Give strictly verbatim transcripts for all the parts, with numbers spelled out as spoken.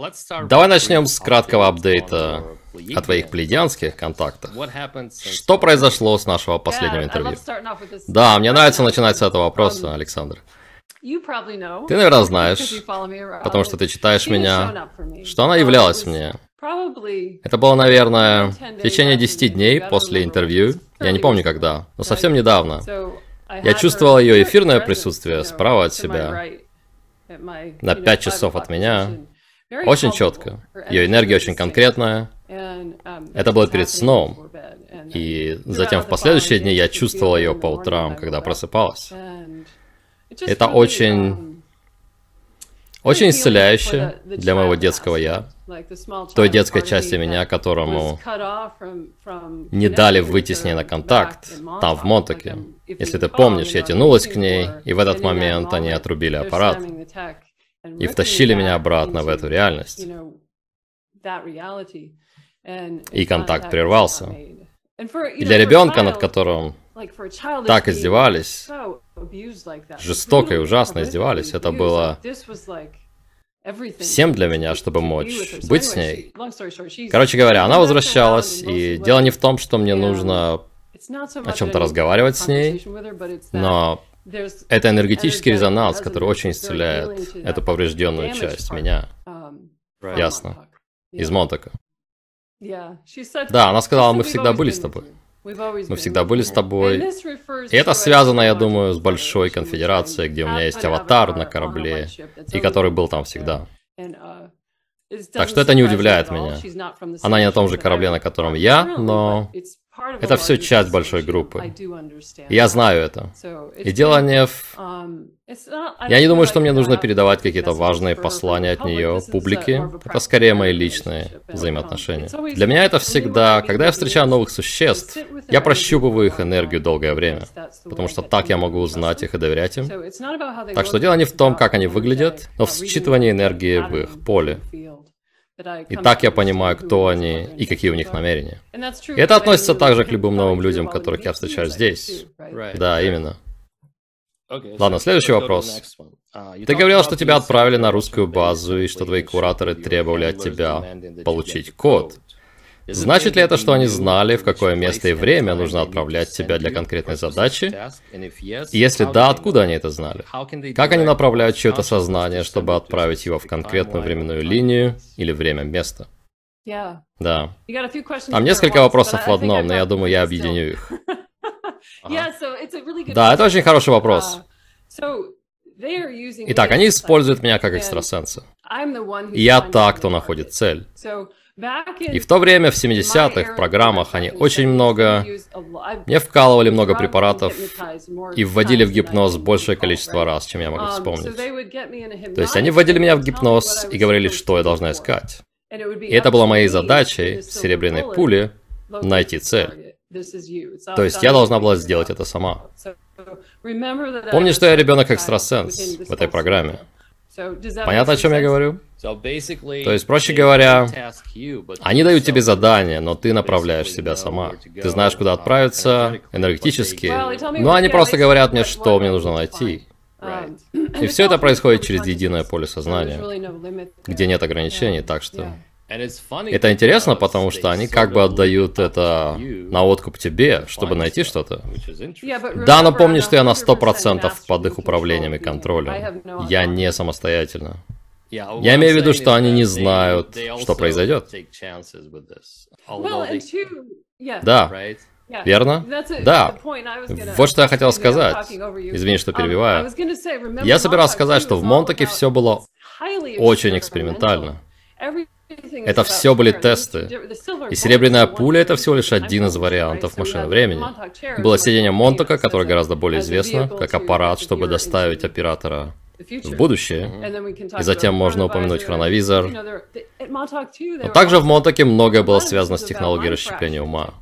Давай начнем с краткого апдейта о твоих плеядианских контактах. Что произошло с нашего последнего интервью? Да, мне нравится начинать с этого вопроса, Александр. Ты, наверное, знаешь, потому что ты читаешь меня, что она являлась мне. Это было, наверное, в течение десяти дней после интервью, я не помню когда, но совсем недавно. Я чувствовал ее эфирное присутствие справа от себя, на пять часов от меня, очень четко. Ее энергия очень конкретная. Это было перед сном. И затем в последующие дни я чувствовал ее по утрам, когда просыпалась. Это очень, очень исцеляюще для моего детского «я», той детской части меня, которому не дали выйти с ней на контакт, там, в Монтаке. Если ты помнишь, я тянулась к ней, и в этот момент они отрубили аппарат и втащили меня обратно в эту реальность. И контакт прервался. И для ребенка, над которым так издевались, жестоко и ужасно издевались, это было всем для меня, чтобы мочь быть с ней. Короче говоря, она возвращалась, и дело не в том, что мне нужно о чем-то разговаривать с ней, но это энергетический резонанс, который очень исцеляет эту поврежденную часть меня. Ясно. Из Монтака. Да, она сказала, мы всегда были с тобой. Мы всегда были с тобой. И это связано, я думаю, с Большой Конфедерацией, где у меня есть аватар на корабле, и который был там всегда. Так что это не удивляет меня. Она не на том же корабле, на котором я, но это все часть большой группы. И я знаю это. И дело не в... Я не думаю, что мне нужно передавать какие-то важные послания от нее публике. Это скорее мои личные взаимоотношения. Для меня это всегда, когда я встречаю новых существ, я прощупываю их энергию долгое время. Потому что так я могу узнать их и доверять им. Так что дело не в том, как они выглядят, но в считывании энергии в их поле. И так я понимаю, кто они и какие у них намерения. И это относится также к любым новым людям, которых я встречаю здесь. Да, именно. Ладно, следующий вопрос. Ты говорил, что тебя отправили на русскую базу, и что твои кураторы требовали от тебя получить код. Значит ли это, что они знали, в какое место и время нужно отправлять тебя для конкретной задачи? И если да, откуда они это знали? Как они направляют чье-то сознание, чтобы отправить его в конкретную временную линию или время-место? Да. Там несколько вопросов в одном, но я думаю, я объединю их. Да, это очень хороший вопрос. Итак, они используют меня как экстрасенса. И я та, кто находит цель. И в то время, в семидесятых, в программах они очень много... Мне вкалывали много препаратов и вводили в гипноз большее количество раз, чем я могу вспомнить. То есть они вводили меня в гипноз и говорили, что я должна искать. И это было моей задачей, в серебряной пуле, найти цель. То есть я должна была сделать это сама. Помни, что я ребенок-экстрасенс в этой программе. Понятно, о чем я говорю? То есть, проще говоря, они дают тебе задание, но ты направляешь себя сама. Ты знаешь, куда отправиться, энергетически, но они просто говорят мне, что мне нужно найти. И все это происходит через единое поле сознания, где нет ограничений, так что... Это интересно, потому что они как бы отдают это на откуп тебе, чтобы найти что-то. Да, но помни, что я на сто процентов под их управлением и контролем. Я не самостоятельно. Я имею в виду, что они не знают, что произойдет. Да. Верно? Да. Вот что я хотел сказать. Извини, что перебиваю. Я собирался сказать, что в Монтаке все было очень экспериментально. Это все были тесты. И серебряная пуля — это всего лишь один из вариантов машины времени. Было сидение Монтака, которое гораздо более известно, как аппарат, чтобы доставить оператора в будущее. И затем можно упомянуть хроновизор. Но также в Монтаке многое было связано с технологией расщепления ума.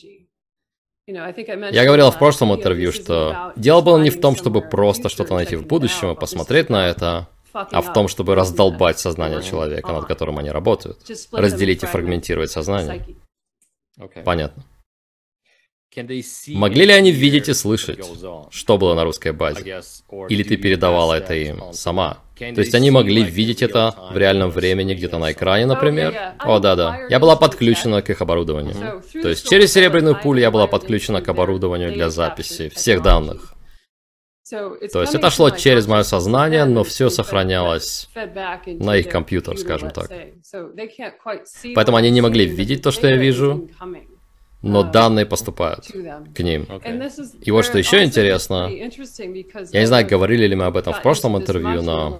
Я говорил в прошлом интервью, что дело было не в том, чтобы просто что-то найти в будущем и посмотреть на это, а в том, чтобы раздолбать сознание человека, над которым они работают. Разделить и фрагментировать сознание. Понятно. Могли ли они видеть и слышать, что было на русской базе? Или ты передавала это им сама? То есть они могли видеть это в реальном времени, где-то на экране, например? О, да-да. Я была подключена к их оборудованию. То есть через серебряную пулю я была подключена к оборудованию для записи всех данных. То есть это шло через мое сознание, но все сохранялось на их компьютер, скажем так. Поэтому они не могли видеть то, что я вижу, но данные поступают к ним. Okay. И вот что еще интересно, я не знаю, говорили ли мы об этом в прошлом интервью, но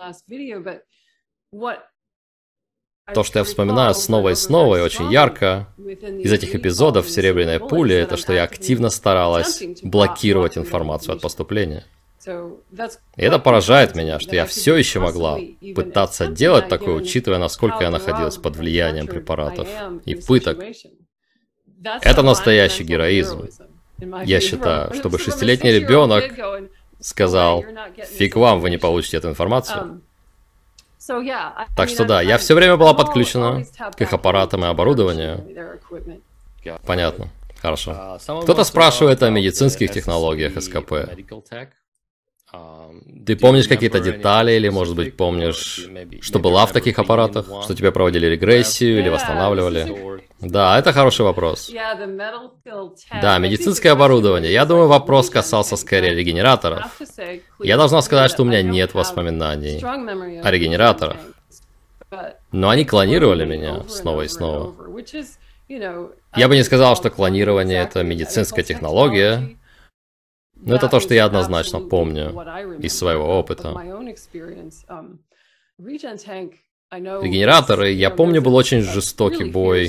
то, что я вспоминаю снова и снова и очень ярко из этих эпизодов «Серебряной пули», это что я активно старалась блокировать информацию от поступления. И это поражает меня, что я все еще могла пытаться делать такое, учитывая, насколько я находилась под влиянием препаратов и пыток. Это настоящий героизм. Я считаю, чтобы шестилетний ребенок сказал: «Фиг вам, вы не получите эту информацию». Так что да, я все время была подключена к их аппаратам и оборудованию. Понятно. Хорошо. Кто-то спрашивает о медицинских технологиях СКП. Ты помнишь какие-то детали, или, может быть, помнишь, что была в таких аппаратах? Что тебе проводили регрессию или восстанавливали? Да, это хороший вопрос. Да, медицинское оборудование. Я думаю, вопрос касался скорее регенераторов. Я должна сказать, что у меня нет воспоминаний о регенераторах. Но они клонировали меня снова и снова. Я бы не сказал, что клонирование — это медицинская технология, но это то, что я однозначно помню из своего опыта. Регенераторы, я помню, был очень жестокий бой.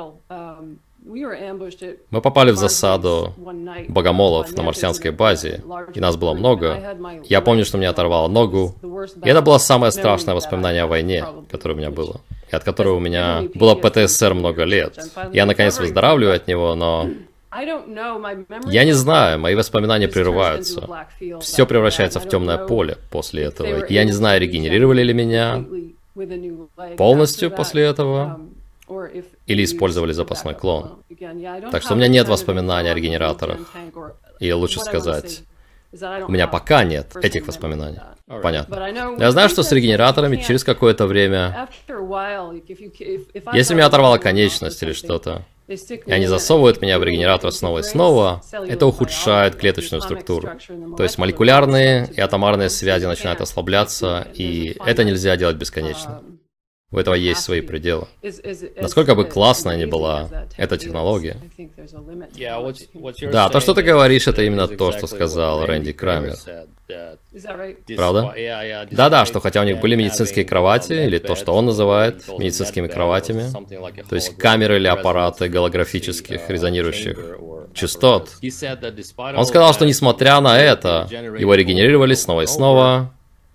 Мы попали в засаду богомолов на марсианской базе, и нас было много. Я помню, что мне оторвало ногу, и это было самое страшное воспоминание о войне, которое у меня было, и от которого у меня было ПТСР много лет. Я, наконец, выздоравливаю от него, но... Я не знаю, мои воспоминания прерываются. Все превращается в темное поле после этого. Я не знаю, регенерировали ли меня полностью после этого, или использовали запасной клон. Так что у меня нет воспоминаний о регенераторах. И лучше сказать, у меня пока нет этих воспоминаний. Понятно. Я знаю, что с регенераторами через какое-то время, если меня оторвала конечность или что-то, и они засовывают меня в регенератор снова и снова, это ухудшает клеточную структуру. То есть молекулярные и атомарные связи начинают ослабляться, и это нельзя делать бесконечно. У этого есть свои пределы. Насколько бы классная ни была эта технология. Да, то, что ты говоришь, это именно то, что сказал Рэнди Крамер. Правда? Да-да, что хотя у них были медицинские кровати, или то, что он называет медицинскими кроватями, то есть камеры или аппараты голографических резонирующих частот, он сказал, что несмотря на это, его регенерировали снова и снова.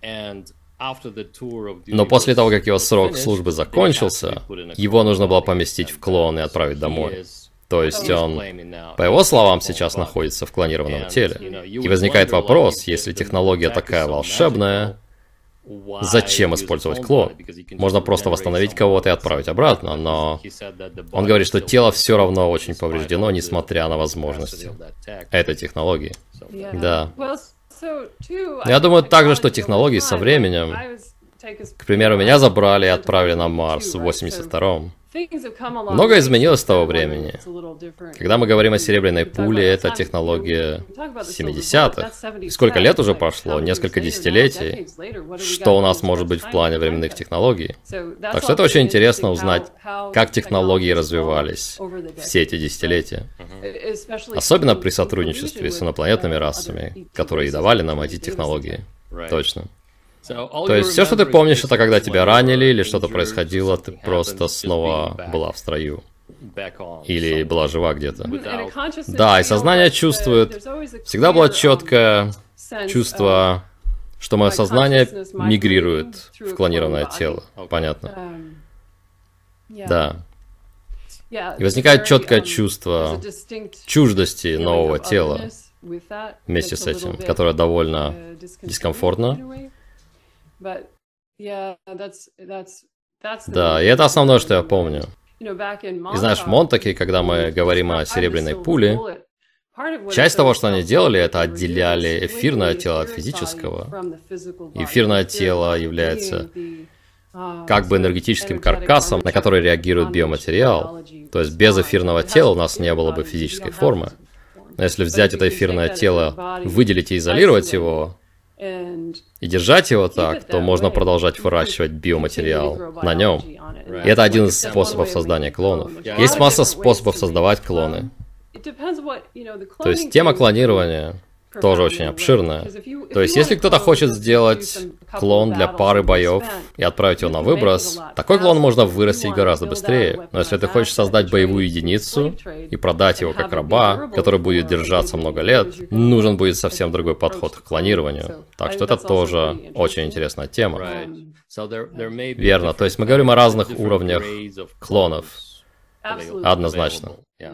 Но после того, как его срок службы закончился, его нужно было поместить в клон и отправить домой. То есть он, по его словам, сейчас находится в клонированном теле. И возникает вопрос, если технология такая волшебная, зачем использовать клон? Можно просто восстановить кого-то и отправить обратно, но он говорит, что тело все равно очень повреждено, несмотря на возможности этой технологии. Да. Я думаю также, что технологии со временем, к примеру, меня забрали и отправили на Марс в восемьдесят втором. Многое изменилось с того времени. Когда мы говорим о серебряной пуле, это технология семидесятых. И сколько лет уже прошло? Несколько десятилетий. Что у нас может быть в плане временных технологий? Так что это очень интересно узнать, как технологии развивались все эти десятилетия. Особенно при сотрудничестве с инопланетными расами, которые и давали нам эти технологии. Точно. То есть все, что ты помнишь, это когда тебя ранили или что-то происходило, ты просто снова была в строю. Или была жива где-то. Да, и сознание чувствует. Всегда было четкое чувство, что мое сознание мигрирует в клонированное тело. Понятно. Да. И возникает четкое чувство чуждости нового тела вместе с этим, которое довольно дискомфортно. Да, и это основное, что я помню. И знаешь, в Монтаке, когда мы говорим о серебряной пуле, Часть того, что они делали, это отделяли эфирное тело от физического. Эфирное тело является как бы энергетическим каркасом, на который реагирует биоматериал. То есть без эфирного тела у нас не было бы физической формы. Но если взять это эфирное тело, выделить и изолировать его, и держать его так, то можно продолжать выращивать биоматериал на нем. И это один из способов создания клонов. Есть масса способов создавать клоны. То есть тема клонирования тоже очень обширная. То есть если кто-то хочет сделать клон для пары боев и отправить его на выброс, такой клон можно вырастить гораздо быстрее. Но если ты хочешь создать боевую единицу и продать его как раба, который будет держаться много лет, нужен будет совсем другой подход к клонированию. Так что это тоже очень интересная тема. Верно, то есть мы говорим о разных уровнях клонов. Однозначно.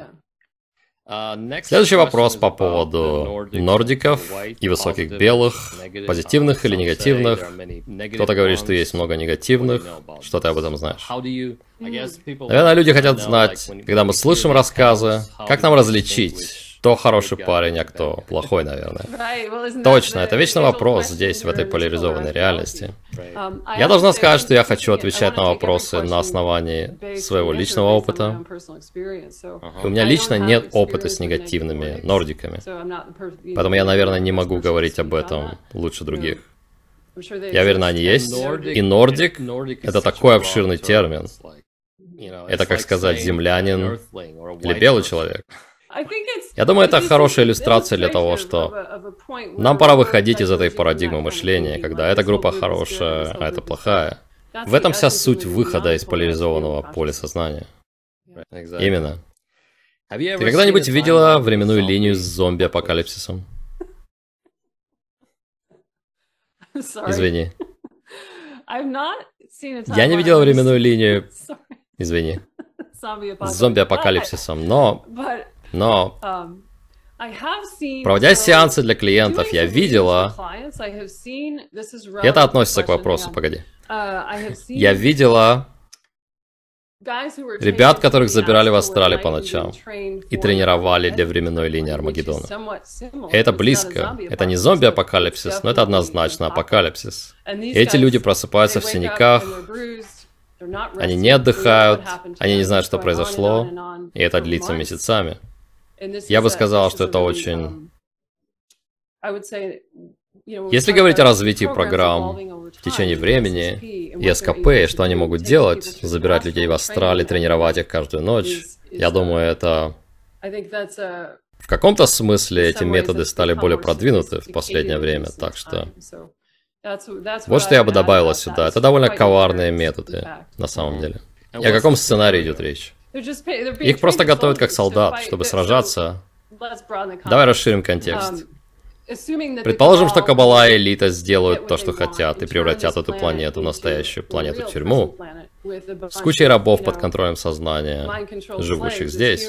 Следующий вопрос по поводу нордиков и высоких белых, позитивных или негативных. Кто-то говорит, что есть много негативных. Что ты об этом знаешь? Наверное, люди хотят знать, когда мы слышим рассказы, как нам различить, кто хороший парень, а кто плохой, наверное. Точно, это вечный вопрос здесь, в этой поляризованной реальности. Я должна сказать, что я хочу отвечать на вопросы на основании своего личного опыта. И у меня лично нет опыта с негативными нордиками. Поэтому я, наверное, не могу говорить об этом лучше других. Я уверен, они есть. И нордик — это такой обширный термин. Это, как сказать, землянин или белый человек. Я думаю, это хорошая иллюстрация для того, что нам пора выходить из этой парадигмы мышления, когда эта группа хорошая, а эта плохая. В этом вся суть выхода из поляризованного поля сознания. Именно. Ты когда-нибудь видела временную линию с зомби-апокалипсисом? Извини. Я не видела временную линию, извини, с зомби-апокалипсисом, но... Но, проводя сеансы для клиентов, я видела... Это относится к вопросу, погоди. Я видела ребят, которых забирали в Австралии по ночам и тренировали для временной линии Армагеддона. Это близко. Это не зомби-апокалипсис, но это однозначно апокалипсис. И эти люди просыпаются в синяках, они не отдыхают, они не знают, что произошло, и это длится месяцами. Я бы сказал, что это очень... Если говорить о развитии программ в течение времени и СКП, что они могут делать, забирать людей в Австралии, тренировать их каждую ночь, я думаю, это... В каком-то смысле эти методы стали более продвинуты в последнее время, так что... Вот что я бы добавила сюда. Это довольно коварные методы, на самом деле. И о каком сценарии идет речь? Их просто готовят как солдат, чтобы сражаться. Давай расширим контекст. Предположим, что Каббала и элита сделают то, что хотят, и превратят эту планету в настоящую планету-тюрьму с кучей рабов под контролем сознания, живущих здесь.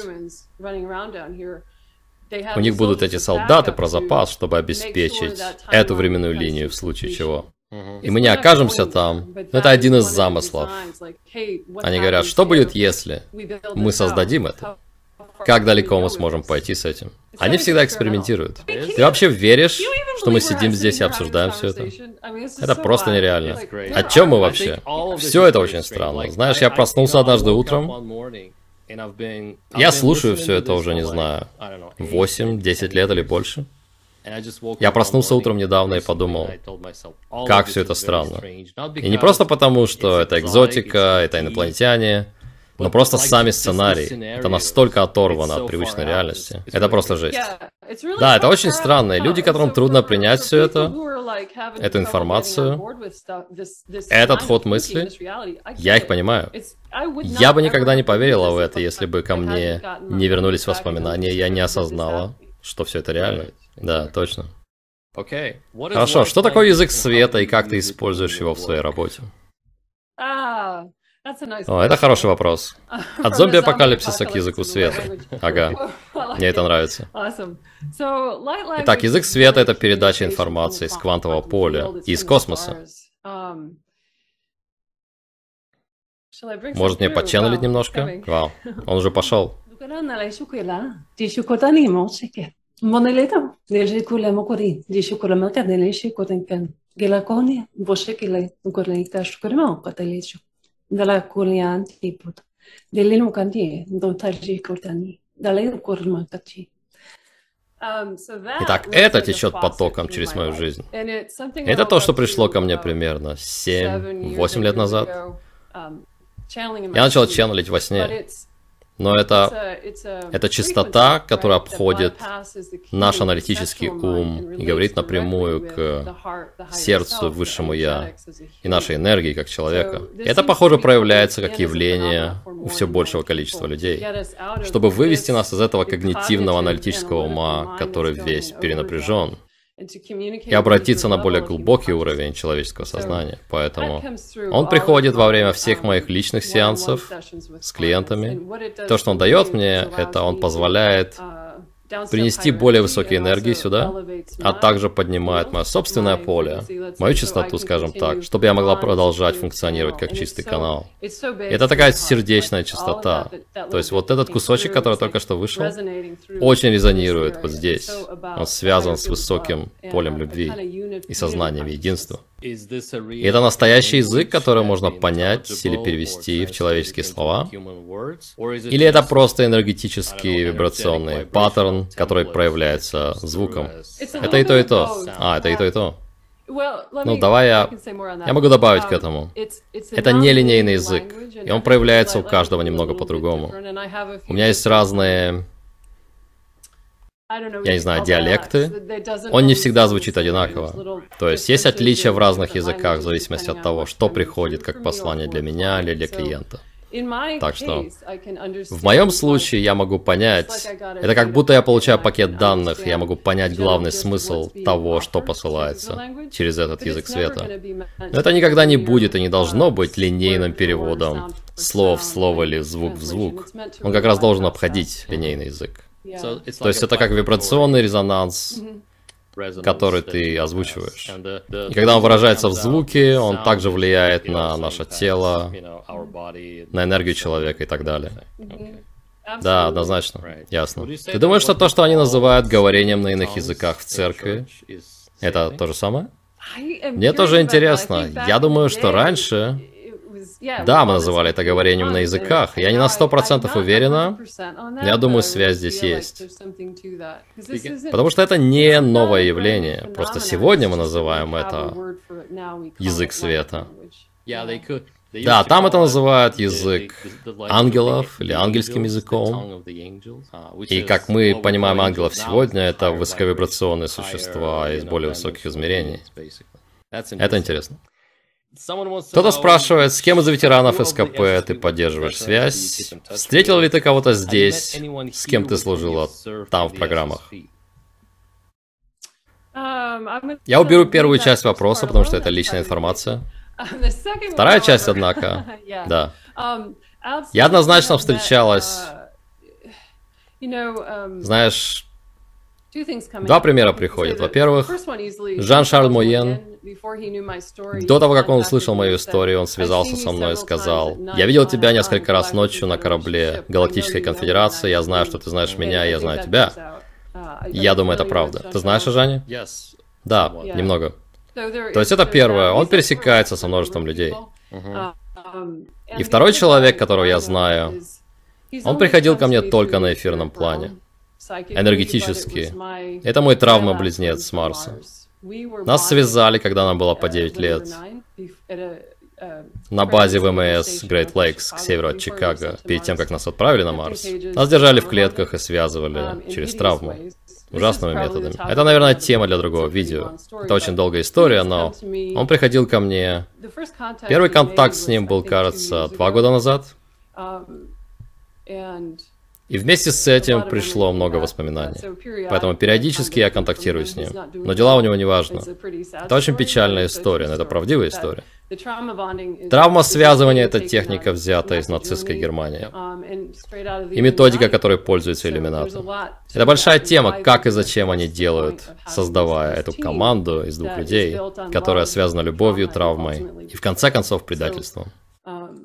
У них будут эти солдаты про запас, чтобы обеспечить эту временную линию в случае чего. И мы не окажемся там. Это один из замыслов. Они говорят, что будет, если мы создадим это? Как далеко мы сможем пойти с этим? Они всегда экспериментируют. Ты вообще веришь, что мы сидим здесь и обсуждаем все это? Это просто нереально. О чем мы вообще? Все это очень странно. Знаешь, я проснулся однажды утром. Я слушаю все это уже, не знаю, восемь-десять лет или больше. Я проснулся утром недавно и подумал, как все это странно. И не просто потому, что это экзотика, это инопланетяне, но просто сами сценарии. Это настолько оторвано от привычной реальности. Это просто жесть. Да, это очень странно. И люди, которым трудно принять все это, эту информацию, этот ход мысли, я их понимаю. Я бы никогда не поверила в это, если бы ко мне не вернулись воспоминания, я не осознала, что все это реально. Да, точно. Хорошо, что такое язык света и как ты используешь его в своей работе? О, это хороший вопрос. От зомби-апокалипсиса к языку света. Ага, мне это нравится. Итак, язык света — это передача информации из квантового поля и из космоса. Может мне поченнелить немножко? Вау, он уже пошел. Monelita, nel kule mokori, dishi kule melka delishi kotenken. Gela koni, boshe kile, ukore ikash kore mo katelicho. Dalla kulian tiput. Delinu kanti, dontaji kotani. Далее укорма качи. Итак, это течет потоком через мою жизнь. Это то, что пришло ко мне примерно семь-восемь лет назад. Я начал ченнелить во сне. Но это, это частота, которая обходит наш аналитический ум и говорит напрямую к сердцу, высшему Я и нашей энергии как человека. И это, похоже, проявляется как явление у все большего количества людей, чтобы вывести нас из этого когнитивного аналитического ума, который весь перенапряжен, и обратиться на более глубокий уровень человеческого сознания. Поэтому он приходит во время всех моих личных сеансов с клиентами. То, что он дает мне, это он позволяет принести более высокие энергии сюда, а также поднимает мое собственное поле, мою частоту, скажем так, чтобы я могла продолжать функционировать как чистый канал. И это такая сердечная частота. То есть вот этот кусочек, который только что вышел, очень резонирует вот здесь. Он связан с высоким полем любви и сознанием единства. И это настоящий язык, который можно понять или перевести в человеческие слова? Или это просто энергетический вибрационный паттерн, который проявляется звуком? Это и то, и то. А, это и то, и то. Ну, давай я... Я могу добавить к этому. Это нелинейный язык, и он проявляется у каждого немного по-другому. У меня есть разные... я не знаю, диалекты, он не всегда звучит одинаково. То есть есть отличия в разных языках в зависимости от того, что приходит как послание для меня или для клиента. Так что в моем случае я могу понять, это как будто я получаю пакет данных, и я могу понять главный смысл того, что посылается через этот язык света. Но это никогда не будет и не должно быть линейным переводом слова в слово или звук в звук. Он как раз должен обходить линейный язык. То есть это как вибрационный резонанс, который ты озвучиваешь. И когда он выражается в звуке, он также влияет на наше тело, на энергию человека и так далее. Да, однозначно. Ясно. Ты думаешь, что то, что они называют говорением на иных языках в церкви, это то же самое? Мне тоже интересно. Я думаю, что раньше... Да, мы называли это говорением на языках. Я не на сто процентов уверена, но я думаю, связь здесь есть. Потому что это не новое явление. Просто сегодня мы называем это язык света. Да, там это называют язык ангелов или ангельским языком. И как мы понимаем ангелов сегодня, это высоковибрационные существа из более высоких измерений. Это интересно. Кто-то спрашивает, с кем из ветеранов СКП ты поддерживаешь связь? Встретил ли ты кого-то здесь, с кем ты служила там в программах? Я уберу первую часть вопроса, потому что это личная информация. Вторая часть, однако, да. Я однозначно встречалась, знаешь, два примера приходят. Во-первых, Жан-Шарль Моен, до того, как он услышал мою историю, он связался со мной и сказал: «Я видел тебя несколько раз ночью на корабле Галактической Конфедерации, я знаю, что ты знаешь меня, и я знаю тебя». И я думаю, это правда. Ты знаешь о Жане? Да, немного. То есть это первое, он пересекается со множеством людей. И второй человек, которого я знаю, он приходил ко мне только на эфирном плане. Энергетически. Это мой травма-близнец с Марса. Нас связали, когда нам было по девять лет. На базе ВМС Great Lakes к северу от Чикаго, перед тем, как нас отправили на Марс. Нас держали в клетках и связывали через травму. Ужасными методами. Это, наверное, тема для другого видео. Это очень долгая история, но он приходил ко мне. Первый контакт с ним был, кажется, два года назад. И вместе с этим пришло много воспоминаний. Поэтому периодически я контактирую с ним. Но дела у него не важно. Это очень печальная история, но это правдивая история. Травма связывания – это техника, взятая из нацистской Германии. И методика, которой пользуются иллюминаты. Это большая тема, как и зачем они делают, создавая эту команду из двух людей, которая связана любовью, травмой и, в конце концов, предательством.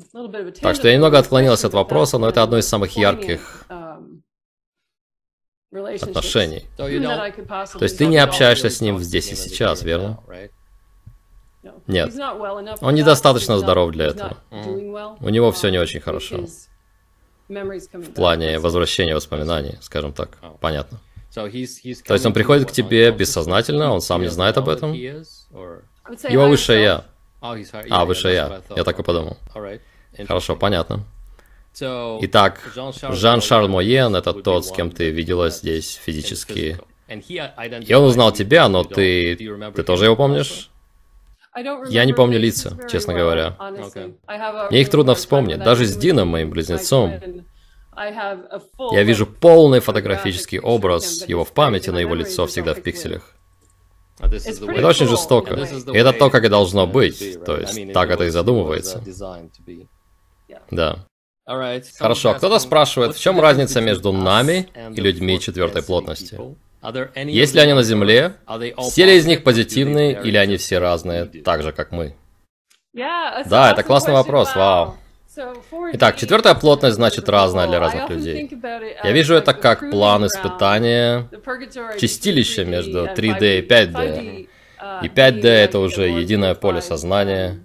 Так что я немного отклонилась от вопроса, но это одно из самых ярких отношений. То есть ты не общаешься с ним здесь и сейчас, верно? Нет. Он недостаточно здоров для этого. У него все не очень хорошо. В плане возвращения воспоминаний, скажем так. Понятно. То есть он приходит к тебе бессознательно, он сам не знает об этом? Его высшее я. А, высшее я. Я так и подумал. Хорошо, понятно. Итак, Жан-Шарль Моен — это тот, с кем ты виделась здесь физически. И он узнал тебя, но ты... Ты тоже его помнишь? Я не помню лица, честно говоря. Мне их трудно вспомнить. Даже с Дином, моим близнецом. Я вижу полный фотографический образ его в памяти, но его лицо всегда в пикселях. Это очень жестоко. И это то, как и должно быть. То есть, так это и задумывается. Да. Хорошо, кто-то спрашивает, в чем разница между нами и людьми четвертой плотности? Есть ли они на Земле? Все ли из них позитивные, или они все разные, так же, как мы? Да, это классный вопрос, вау. Итак, четвертая плотность значит разная для разных людей. Я вижу это как план испытания, чистилище между три дэ и пять дэ. И пять дэ это уже единое поле сознания.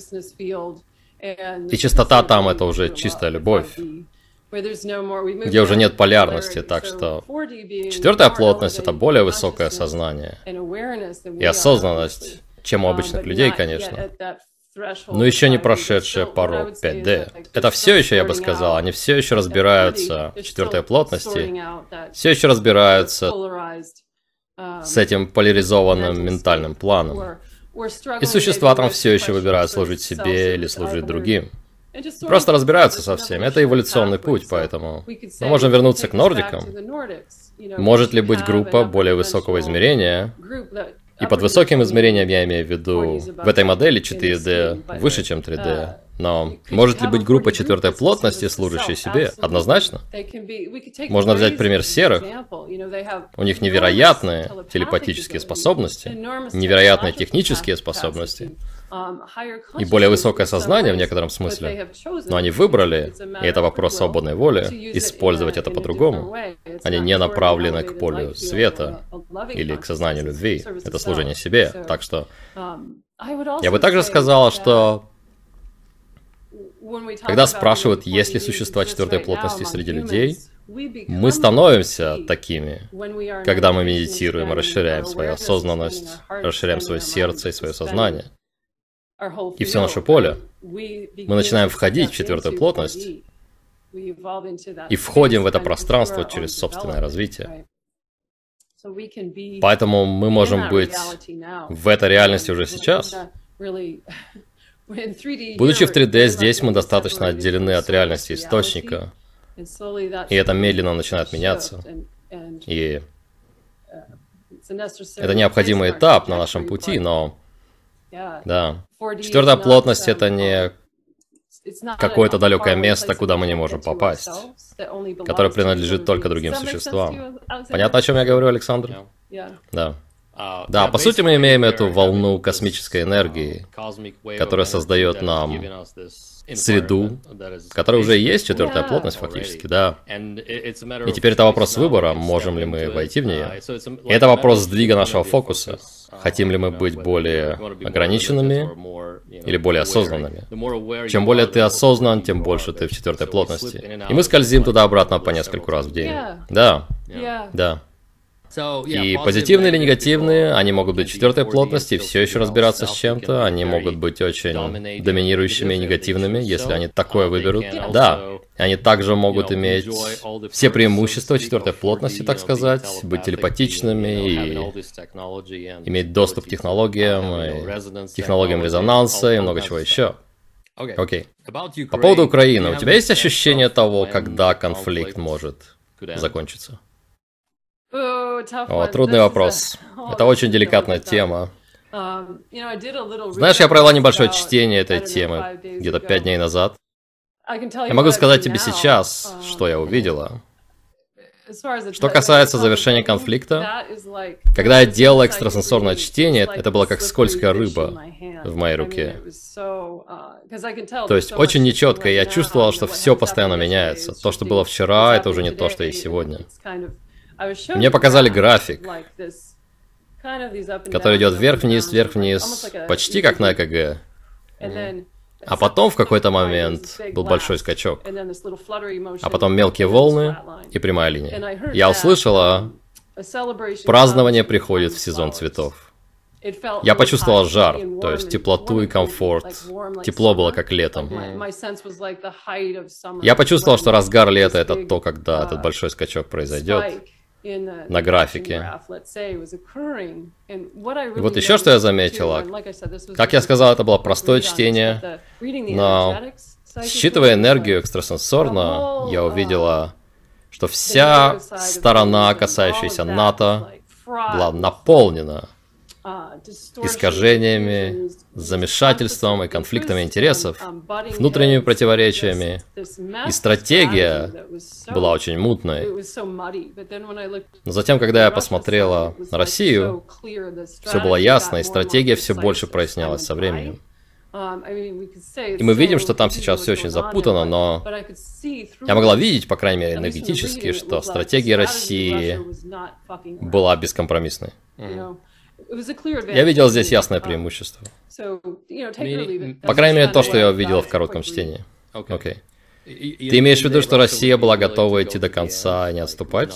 И чистота там это уже чистая любовь, где уже нет полярности, так что четвертая плотность это более высокое сознание и осознанность, чем у обычных людей, конечно. Но еще не прошедшие порог пять дэ. Это все еще, я бы сказал, они все еще разбираются в четвертой плотности, все еще разбираются с этим поляризованным ментальным планом. И существа там все еще выбирают служить себе или служить другим. Просто разбираются со всем. Это эволюционный путь, поэтому мы можем вернуться к нордикам. Может ли быть группа более высокого измерения? И под высоким измерением я имею в виду в этой модели четыре дэ выше, чем три дэ. Но может ли быть группа четвертой плотности, служащей себе? Однозначно. Можно взять пример серых. У них невероятные телепатические способности, невероятные технические способности и более высокое сознание в некотором смысле. Но они выбрали, и это вопрос свободной воли, использовать это по-другому. Они не направлены к полю света или к сознанию любви. Это служение себе. Так что я бы также сказала, что когда спрашивают, есть ли существа четвертой плотности среди людей, мы становимся такими, когда мы медитируем и расширяем свою осознанность, расширяем свое сердце и свое сознание. И все наше поле. Мы начинаем входить в четвертую плотность и входим в это пространство через собственное развитие. Поэтому мы можем быть в этой реальности уже сейчас. Будучи в три дэ, здесь мы достаточно отделены от реальности источника, и это медленно начинает меняться. И это необходимый этап на нашем пути, но да, четвертая плотность — это не какое-то далекое место, куда мы не можем попасть, которое принадлежит только другим существам. Понятно, о чем я говорю, Александр? Да. Да, по сути мы имеем эту волну космической энергии, которая создает нам среду, которая уже есть четвертая плотность фактически, да. И теперь это вопрос выбора, можем ли мы войти в нее. И это вопрос сдвига нашего фокуса. Хотим ли мы быть более ограниченными или более осознанными? Чем более ты осознан, тем больше ты в четвертой плотности. И мы скользим туда-обратно по нескольку раз в день. Да, да. И позитивные или негативные, они могут быть четвертой плотности и все еще разбираться с чем-то, они могут быть очень доминирующими и негативными, если они такое выберут. Да, они также могут иметь все преимущества четвертой плотности, так сказать, быть телепатичными и иметь доступ к технологиям, и технологиям резонанса и много чего еще. Окей. По поводу Украины, у тебя есть ощущение того, когда конфликт может закончиться? О, трудный вопрос. Это очень деликатная тема. Знаешь, я провела небольшое чтение этой темы где-то пять дней назад. Я могу сказать тебе сейчас, что я увидела. Что касается завершения конфликта, когда я делала экстрасенсорное чтение, это было как скользкая рыба в моей руке. То есть очень нечетко, я чувствовала, что все постоянно меняется. То, что было вчера, это уже не то, что есть сегодня. Мне показали график, который идет вверх-вниз, вверх-вниз, почти как на ЭКГ. А потом в какой-то момент был большой скачок. А потом мелкие волны и прямая линия. Я услышала, празднование приходит в сезон цветов. Я почувствовал жар, то есть теплоту и комфорт. Тепло было как летом. Я почувствовал, что разгар лета — это то, когда этот большой скачок произойдет на графике. И вот еще что я заметила. Как я сказал, это было простое чтение, но считывая энергию экстрасенсорно, я увидела, что вся сторона, касающаяся НАТО, была наполнена искажениями, замешательством и конфликтами интересов, внутренними противоречиями. И стратегия была очень мутной. Но затем, когда я посмотрела на Россию, все было ясно, и стратегия все больше прояснялась со временем. И мы видим, что там сейчас все очень запутано, но я могла видеть, по крайней мере, энергетически, что стратегия России была бескомпромиссной. Я видел здесь ясное преимущество. По крайней мере, то, что я увидел в коротком чтении. Окей. Ты имеешь в виду, что Россия была готова идти до конца и не отступать?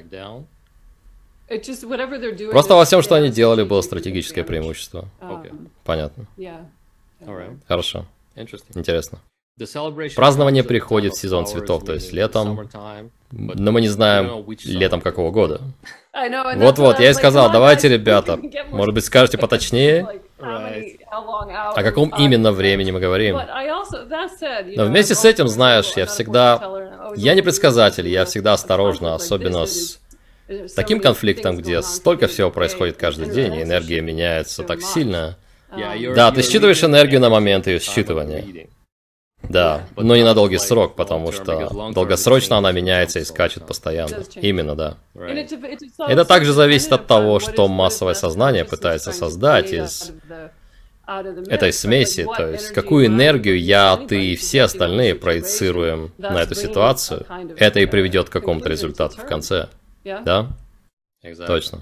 Просто во всем, что они делали, было стратегическое преимущество. Понятно. Хорошо. Интересно. Празднование приходит в сезон цветов, то есть летом, но мы не знаем, летом какого года. Вот-вот, я и сказал, давайте, ребята, может быть, скажете поточнее, о каком именно времени мы говорим. Но вместе с этим, знаешь, я всегда... Я не предсказатель, я всегда осторожна, особенно с таким конфликтом, где столько всего происходит каждый день, и энергия меняется так сильно. Да, ты считываешь энергию на момент ее считывания. Да, но не на долгий срок, потому что долгосрочно она меняется и скачет постоянно. Именно, да. Это также зависит от того, что массовое сознание пытается создать из этой смеси, то есть какую энергию я, ты и все остальные проецируем на эту ситуацию, это и приведет к какому-то результату в конце. Да? Точно.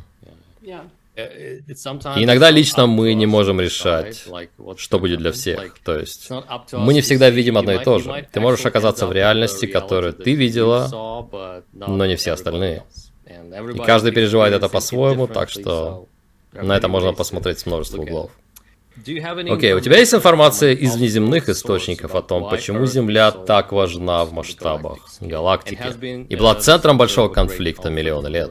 И иногда лично мы не можем решать, что будет для всех. То есть мы не всегда видим одно и то же. Ты можешь оказаться в реальности, которую ты видела, но не все остальные. И каждый переживает это по-своему, так что на это можно посмотреть с множества углов. Окей, okay, у тебя есть информация из внеземных источников о том, почему Земля так важна в масштабах галактики и была центром большого конфликта миллионы лет?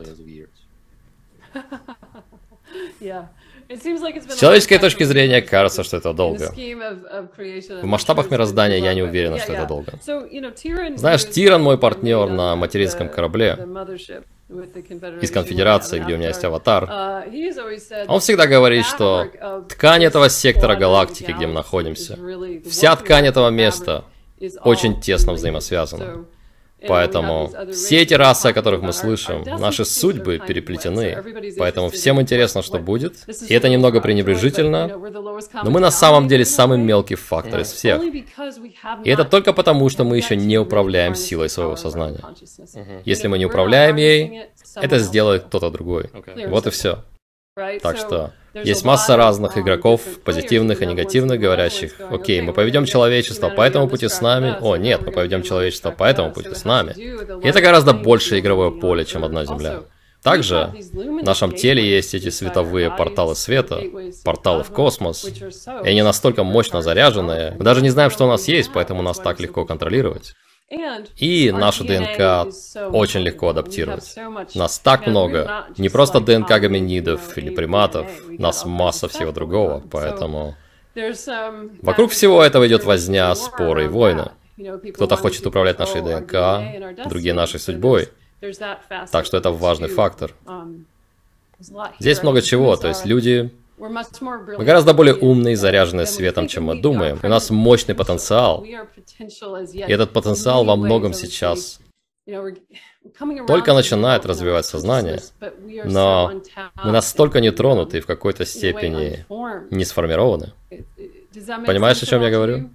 С человеческой точки зрения кажется, что это долго. В масштабах мироздания я не уверена, что это долго. Знаешь, Тиран мой партнер на материнском корабле из Конфедерации, где у меня есть аватар. Он всегда говорит, что ткань этого сектора галактики, где мы находимся, вся ткань этого места очень тесно взаимосвязана. Поэтому все эти расы, о которых мы слышим, наши судьбы переплетены. Поэтому всем интересно, что будет. И это немного пренебрежительно, но мы на самый деле самый мелкий фактор из всех. И это только потому, что мы еще не управляем силой своего сознания. Если мы не управляем ей, это сделает кто-то другой. Вот и все. Так что есть масса разных игроков, позитивных и негативных, говорящих: окей, мы поведем человечество по этому пути с нами. О, нет, мы поведем человечество по этому пути с нами. И это гораздо больше игровое поле, чем одна Земля. Также в нашем теле есть эти световые порталы света, порталы в космос, и они настолько мощно заряженные. Мы даже не знаем, что у нас есть, поэтому нас так легко контролировать. И нашу ДНК очень легко адаптировать. Нас так много. Не просто ДНК гоминидов или приматов, нас масса всего другого, поэтому... Вокруг всего этого идет возня, споры и войны. Кто-то хочет управлять нашей ДНК, другие нашей судьбой. Так что это важный фактор. Здесь много чего, то есть люди... Мы гораздо более умные и заряженные светом, чем мы думаем. У нас мощный потенциал. И этот потенциал во многом сейчас только начинает развивать сознание. Но мы настолько не тронуты и в какой-то степени не сформированы. Понимаешь, о чем я говорю?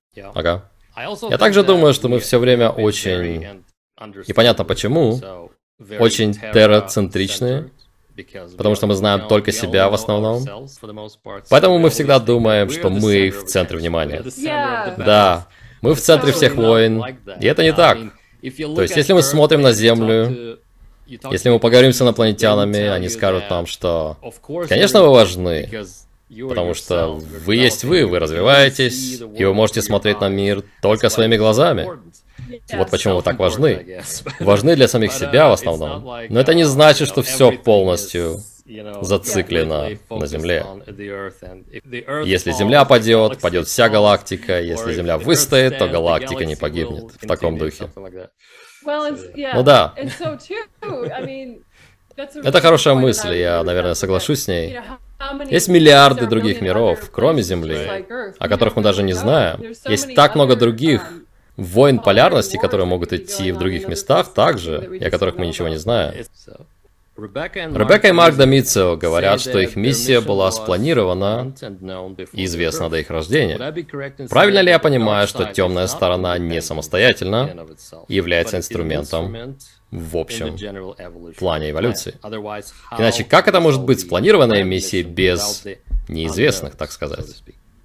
Ага. Я также думаю, что мы все время очень... И понятно почему. очень терроцентричные, потому что мы знаем только себя в основном. Поэтому мы всегда думаем, что мы в центре внимания. Да, мы в центре всех войн, и это не так. То есть, если мы смотрим на Землю, если мы поговорим с инопланетянами, они скажут нам, что, конечно, вы важны, потому что вы есть вы, вы развиваетесь, и вы можете смотреть на мир только своими глазами. Вот почему вы так важны. Важны для самих себя в основном. Но это не значит, что все полностью зациклено на Земле. Если Земля падет, падет вся галактика. Если Земля выстоит, то галактика не погибнет. В таком духе. Ну да. Это хорошая мысль, я, наверное, соглашусь с ней. Есть миллиарды других миров, кроме Земли, о которых мы даже не знаем. Есть так много других войн полярности, которые могут идти в других местах также, и о которых мы ничего не знаем. Ребекка и Марк Домицио говорят, что их миссия была спланирована и известна до их рождения. Правильно ли я понимаю, что темная сторона не самостоятельна и является инструментом в общем плане эволюции? Иначе как это может быть спланированная миссия без неизвестных, так сказать?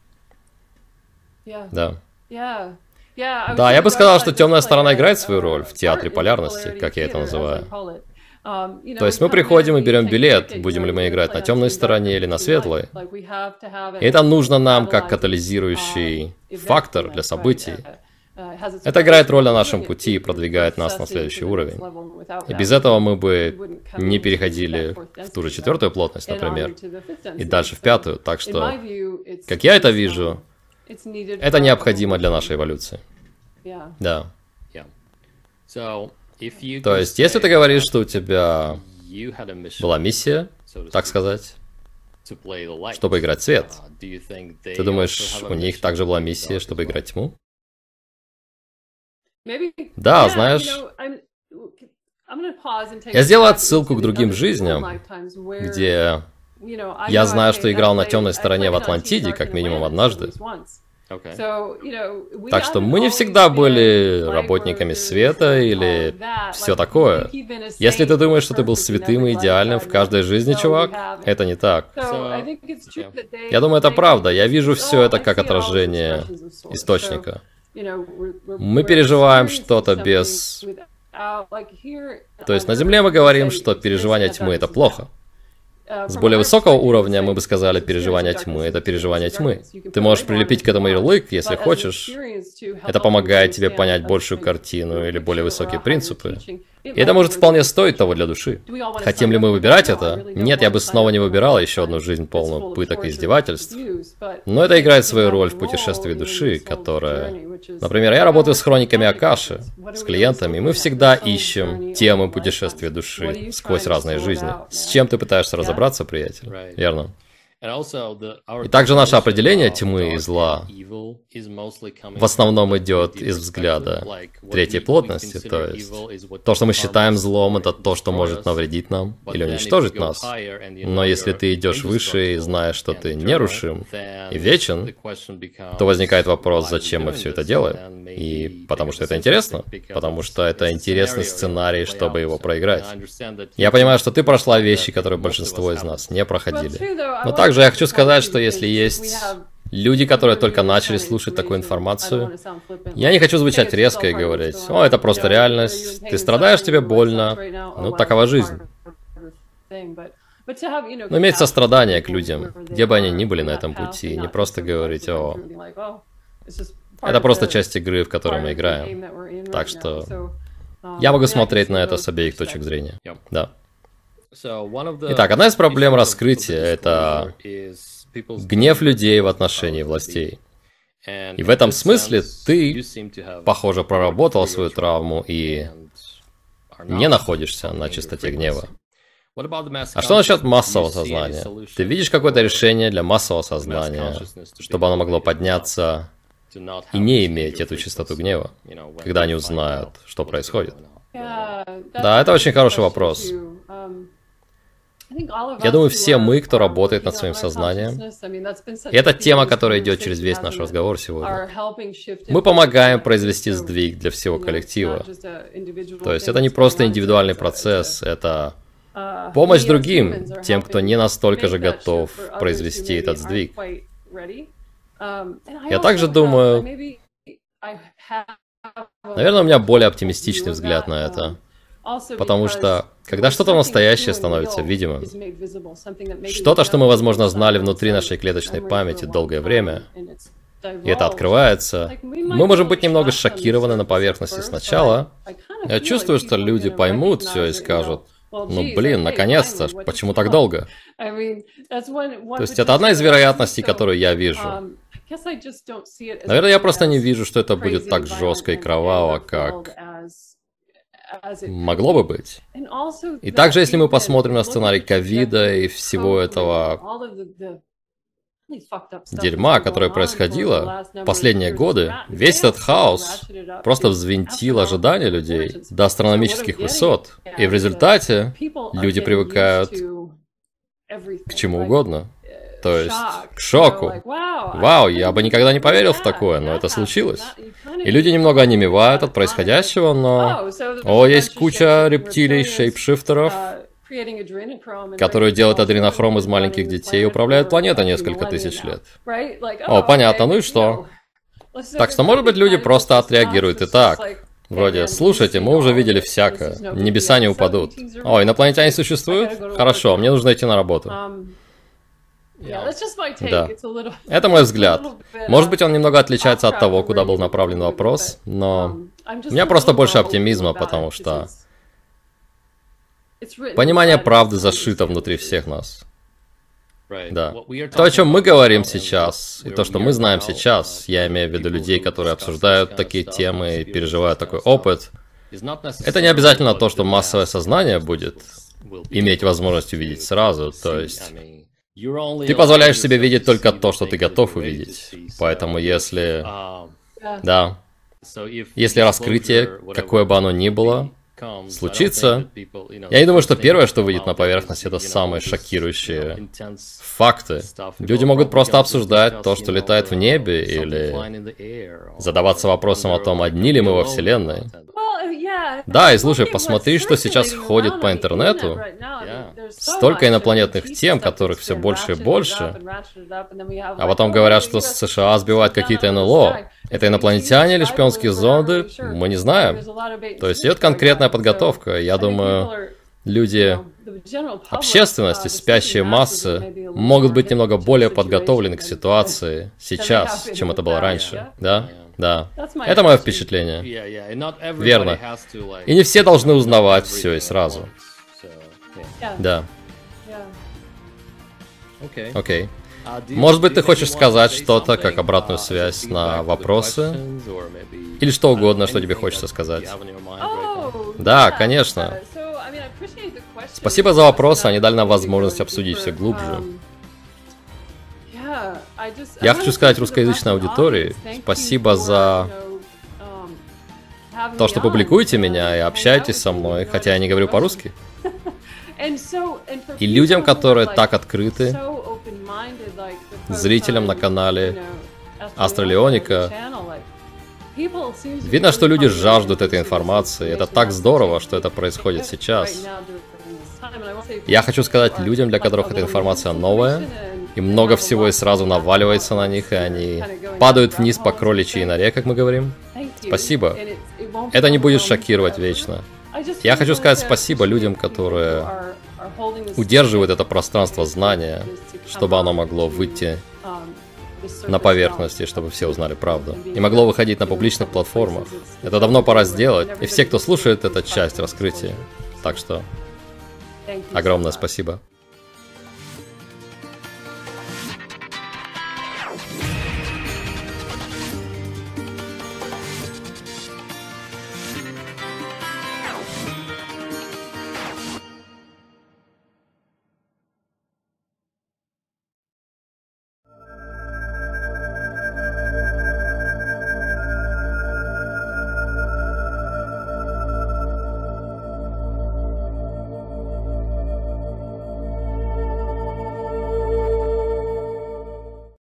Да. Да, я бы сказал, что темная сторона играет свою роль в театре полярности, как я это называю. То есть мы приходим и берем билет, будем ли мы играть на темной стороне или на светлой. И это нужно нам как катализирующий фактор для событий. Это играет роль на нашем пути и продвигает нас на следующий уровень. И без этого мы бы не переходили в ту же четвертую плотность, например, и дальше в пятую. Так что, как я это вижу, это необходимо для нашей эволюции. Да. То есть, если ты говоришь, что у тебя была миссия, так сказать, чтобы играть свет, ты думаешь, у них также была миссия, чтобы играть тьму? Да, знаешь, я сделал отсылку к другим жизням, где я знаю, что играл на темной стороне в Атлантиде, как минимум однажды. Так что мы не всегда были работниками света или все такое. Если ты думаешь, что ты был святым и идеальным в каждой жизни, чувак, это не так. Я думаю, это правда. Я вижу все это как отражение источника. Мы переживаем что-то без... То есть на Земле мы говорим, что переживание тьмы — это плохо. С более высокого уровня мы бы сказали, переживание тьмы — это переживание тьмы. Ты можешь прилепить к этому ярлык, если хочешь. Это помогает тебе понять большую картину или более высокие принципы. И это может вполне стоить того для души. Хотим ли мы выбирать это? Нет, я бы снова не выбирал еще одну жизнь полную пыток и издевательств. Но это играет свою роль в путешествии души, которая... Например, я работаю с хрониками Акаши, с клиентами, и мы всегда ищем темы путешествия души сквозь разные жизни. С чем ты пытаешься разобраться, приятель? Верно. И также наше определение тьмы и зла в основном идет из взгляда третьей плотности, то есть то, что мы считаем злом, это то, что может навредить нам или уничтожить нас. Но если ты идешь выше и знаешь, что ты нерушим и вечен, то возникает вопрос, зачем мы все это делаем? И потому что это интересно, потому что это интересный сценарий, чтобы его проиграть. Я понимаю, что ты прошла вещи, которые большинство из нас не проходили. Но также я хочу сказать, что если есть люди, которые только начали слушать такую информацию, я не хочу звучать резко и говорить: «О, это просто реальность, ты страдаешь, тебе больно, ну, такова жизнь». Но иметь сострадание к людям, где бы они ни были на этом пути, не просто говорить: «О, это просто часть игры, в которой мы играем». Так что я могу смотреть на это с обеих точек зрения. Да. Итак, одна из проблем раскрытия — это гнев людей в отношении властей. И в этом смысле ты, похоже, проработал свою травму и не находишься на чистоте гнева. А что насчет массового сознания? Ты видишь какое-то решение для массового сознания, чтобы оно могло подняться и не иметь эту чистоту гнева, когда они узнают, что происходит? Да, это очень хороший вопрос. Я думаю, все мы, кто работает над своим сознанием, и это тема, которая идет через весь наш разговор сегодня. Мы помогаем произвести сдвиг для всего коллектива. То есть это не просто индивидуальный процесс, это помощь другим, тем, кто не настолько же готов произвести этот сдвиг. Я также думаю, наверное, у меня более оптимистичный взгляд на это. Потому что, когда что-то настоящее становится видимым, что-то, что мы, возможно, знали внутри нашей клеточной памяти долгое время, и это открывается, мы можем быть немного шокированы на поверхности сначала. Я чувствую, что люди поймут все и скажут: ну блин, наконец-то, почему так долго? То есть это одна из вероятностей, которую я вижу. Наверное, я просто не вижу, что это будет так жестко и кроваво, как могло бы быть. И также, если мы посмотрим на сценарий ковида и всего этого дерьма, которое происходило в последние годы, весь этот хаос просто взвинтил ожидания людей до астрономических высот. И в результате люди привыкают к чему угодно. То есть к шоку. Вау, я бы никогда не поверил в такое, но это случилось. И люди немного онемевают от происходящего, но... О, есть куча рептилий, шейпшифтеров, которые делают адренохром из маленьких детей и управляют планетой несколько тысяч лет. О, понятно, ну и что? Так что, может быть, люди просто отреагируют и так. Вроде: слушайте, мы уже видели всякое, небеса не упадут. О, инопланетяне существуют? Хорошо, мне нужно идти на работу. Да. Это мой взгляд. Может быть, он немного отличается от того, куда был направлен вопрос, но у меня просто больше оптимизма, потому что понимание правды зашито внутри всех нас. Да. То, о чем мы говорим сейчас, и то, что мы знаем сейчас, я имею в виду людей, которые обсуждают такие темы и переживают такой опыт, это не обязательно то, что массовое сознание будет иметь возможность увидеть сразу, то есть... Ты позволяешь себе видеть только то, что ты готов увидеть. Поэтому если... Да. Если раскрытие, какое бы оно ни было, случится, я не думаю, что первое, что выйдет на поверхность, это самые шокирующие факты. Люди могут просто обсуждать то, что летает в небе, или задаваться вопросом о том, одни ли мы во Вселенной. Да, и слушай, посмотри, что сейчас ходит по интернету. Столько инопланетных тем, которых все больше и больше. А потом говорят, что США сбивают какие-то эн эл о. Это инопланетяне или шпионские зонды? Мы не знаем. То есть идет конкретная подготовка. Я думаю, люди, общественность и спящие массы могут быть немного более подготовлены к ситуации сейчас, чем это было раньше. Да? Да. Это мое впечатление. Верно. И не все должны узнавать все и сразу. Да. Окей. Может быть, ты хочешь сказать что-то, как обратную связь на вопросы? Или что угодно, что тебе хочется сказать? Да, конечно. Спасибо за вопросы, они дали нам возможность обсудить все глубже. Я хочу сказать русскоязычной аудитории спасибо за то, что публикуете меня и общаетесь со мной, хотя я не говорю по-русски. И людям, которые так открыты, зрителям на канале Астралионика, видно, что люди жаждут этой информации. Это так здорово, что это происходит сейчас. Я хочу сказать людям, для которых эта информация новая, и много всего и сразу наваливается на них, и они падают вниз по кроличьей норе, как мы говорим. Спасибо. Это не будет шокировать вечно. Я хочу сказать спасибо людям, которые удерживают это пространство знания, чтобы оно могло выйти на поверхности, чтобы все узнали правду. И могло выходить на публичных платформах. Это давно пора сделать. И все, кто слушает, это часть раскрытия. Так что огромное спасибо.